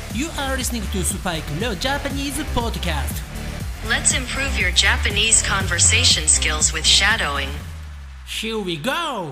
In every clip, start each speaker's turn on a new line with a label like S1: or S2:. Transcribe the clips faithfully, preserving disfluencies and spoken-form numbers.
S1: You are listening to Spike Leo Japanese Podcast.
S2: Let's improve your Japanese conversation skills with shadowing.
S1: Here we go!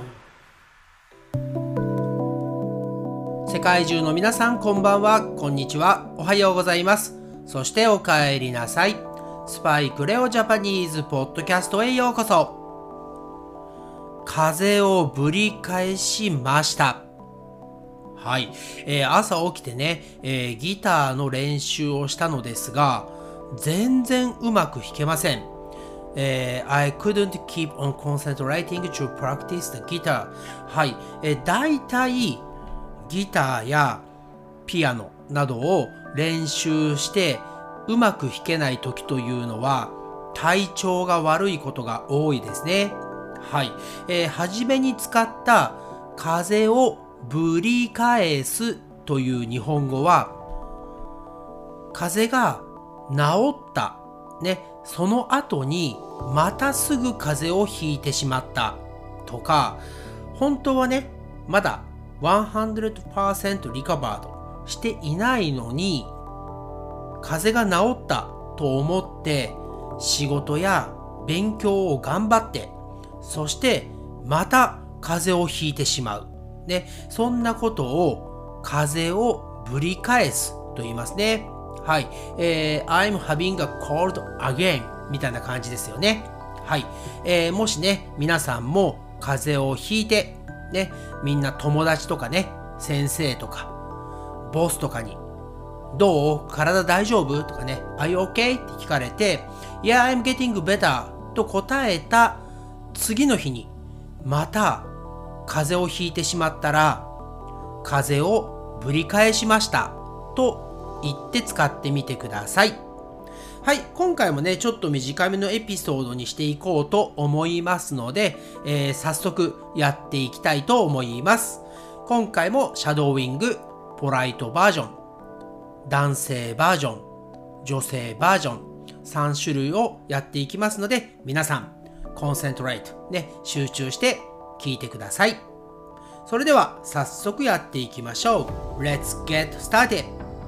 S3: 世界中の皆さんこんばんは、こんにちは、おはようございます。そしてお帰りなさい。スパイクレオジャパニーズポッドキャストへようこそ。風をぶり返しました。はい、えー、朝起きてね、えー、ギターの練習をしたのですが、全然うまく弾けません。えー、I couldn't keep on concentrating to practice the guitar. はい、えー、だいたいギターやピアノなどを練習してうまく弾けない時というのは体調が悪いことが多いですね。はい、えー、初めに使った風をぶり返すという日本語は、風が治ったね、その後にまたすぐ風邪をひいてしまったとか、本当はねまだひゃくパーセントリカバードしていないのに風邪が治ったと思って仕事や勉強を頑張って、そしてまた風邪をひいてしまうね、そんなことを風邪をぶり返すと言いますね。はい、えー、I'm having a cold again みたいな感じですよね。はい、えー、もしね皆さんも風邪をひいてね、みんな友達とかね、先生とかボスとかにどう？体大丈夫？とかね、Are you okay? って聞かれて、Yeah, I'm getting better と答えた次の日にまた風邪をひいてしまったら、風邪をぶり返しましたと言って使ってみてください。はい、今回もねちょっと短めのエピソードにしていこうと思いますので、えー、早速やっていきたいと思います。今回もシャドーイング、ポライトバージョン、男性バージョン、女性バージョンさん種類をやっていきますので、皆さんコンセントレートね、集中して聞いてください。それでは早速やっていきましょう。 Let's get started.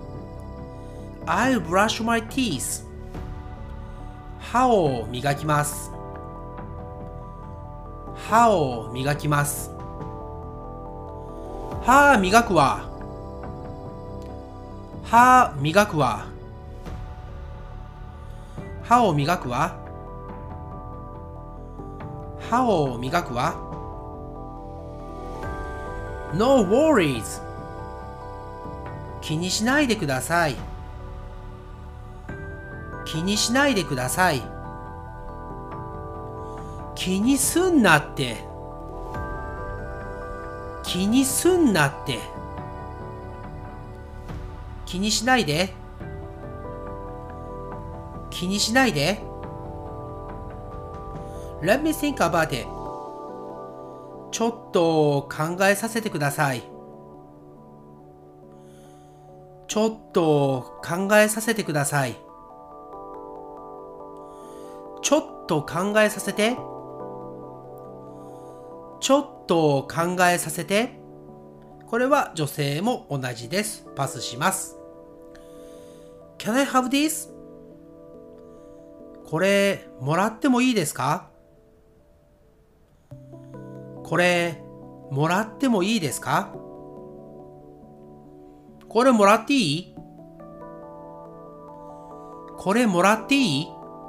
S3: I'll brush my teeth. 歯を磨きます。歯を磨きます。歯磨くわ。歯磨くわ。歯を磨くわ。歯を磨くわ。No worries. 気にしないでください。気にしないでください。気にすんなって。気にすんなって。気にしないで。気にしないで。Let me think about it. ちょっと考えさせてください。ちょっと考えさせてください。ちょっと考えさせて。ちょっと考えさせて。これは女性も同じです。パスします。Can I have this? これもらってもいいですか？これもらってもいいですか？これもらっていい？これもらっていい？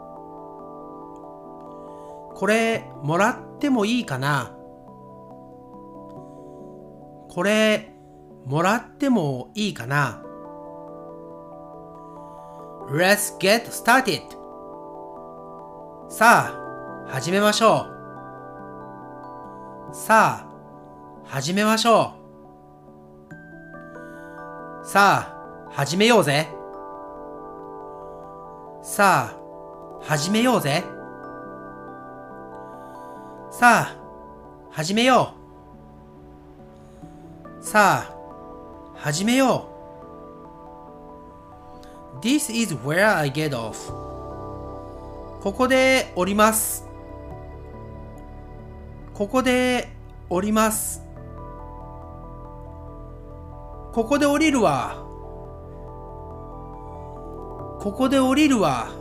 S3: これもらってもいいかな？これもらってもいいかな？ Let's get started. さあ始めましょう。さあ始めましょう。さあ始めようぜ。さあ始めようぜ。さあ始めよう。さあ始めよう。 This is where I get off. ここで降ります。ここで降ります。ここで降りるわ。 ここで降りるわ。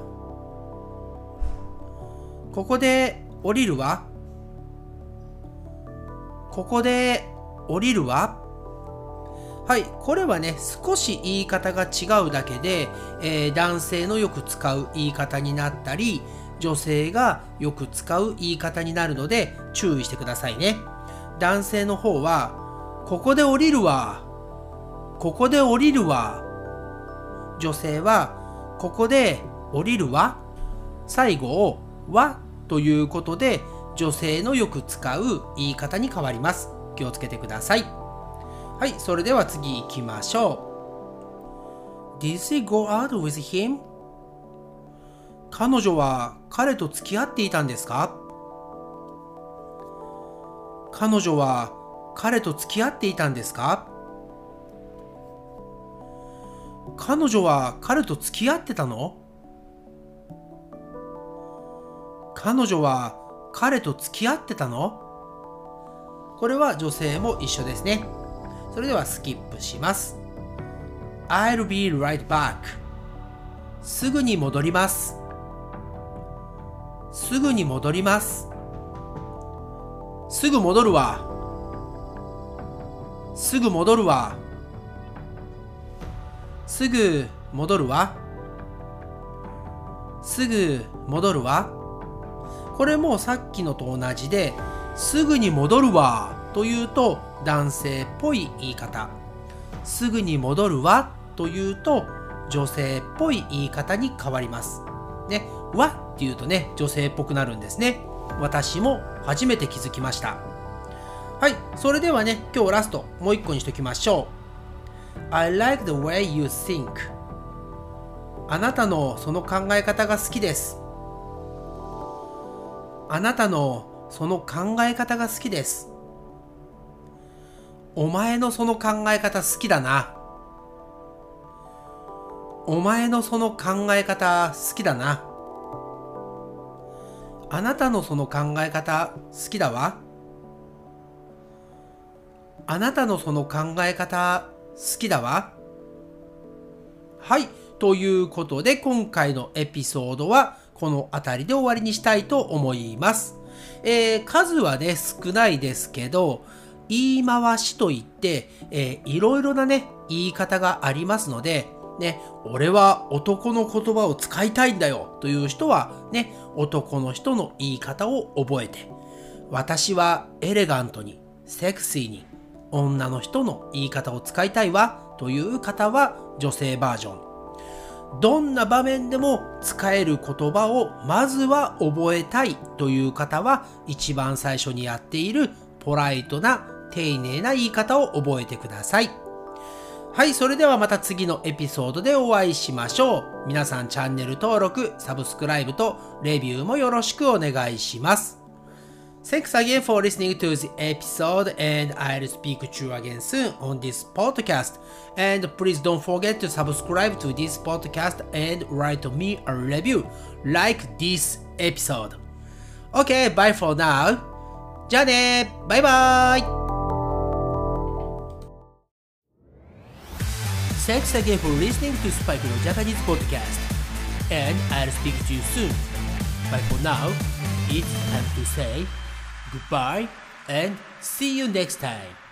S3: ここで降りるわ。ここで降りるわ。はい、これはね、少し言い方が違うだけで、えー、男性のよく使う言い方になったり、女性がよく使う言い方になるので注意してくださいね。男性の方は、ここで降りるわ。ここで降りるわ。女性は、ここで降りるわ。最後をわということで、女性のよく使う言い方に変わります。気をつけてください。はい、それでは次行きましょう。Did she go out with him? 彼女は彼と付き合っていたんですか？彼女は彼と付き合っていたんですか？彼女は彼と付き合ってたの？彼女は彼と付き合ってたの？これは女性も一緒ですね。それではスキップします。I'll be right back. すぐに戻ります。すぐに戻ります。すぐ戻るわ。すぐ戻るわ。すぐ戻るわ。すぐ戻るわ。これもさっきのと同じで、すぐに戻るわというと男性っぽい言い方。すぐに戻るわというと女性っぽい言い方に変わります。ね、わっていうとね、女性っぽくなるんですね。私も初めて気づきました。はい、それではね、今日ラストもう一個にしときましょう。I like the way you think. あなたのその考え方が好きです。あなたのその考え方が好きです。お前のその考え方好きだな。お前のその考え方好きだな。あなたのその考え方好きだわ。あなたのその考え方好きだわ。はい。ということで今回のエピソードはこの辺りで終わりにしたいと思います。えー、数はね少ないですけど、言い回しといって、えー、いろいろなね言い方がありますので、ね、俺は男の言葉を使いたいんだよという人はね、男の人の言い方を覚えて、私はエレガントにセクシーに女の人の言い方を使いたいわという方は女性バージョン。どんな場面でも使える言葉をまずは覚えたいという方は一番最初にやっているポライトな丁寧な言い方を覚えてください。はい、それではまた次のエピソードでお会いしましょう。皆さんチャンネル登録、サブスクライブとレビューもよろしくお願いします。Thanks again for listening to the episode, and I'll speak to you again soon on this podcast. And please don't forget to subscribe to this podcast and write me a review like this episode. Okay, bye for now. じゃあね、バイバイ。Thanks again for listening to Spike no Japanese podcast, and I'll speak to you soon. But for now, it's time to say goodbye and see you next time.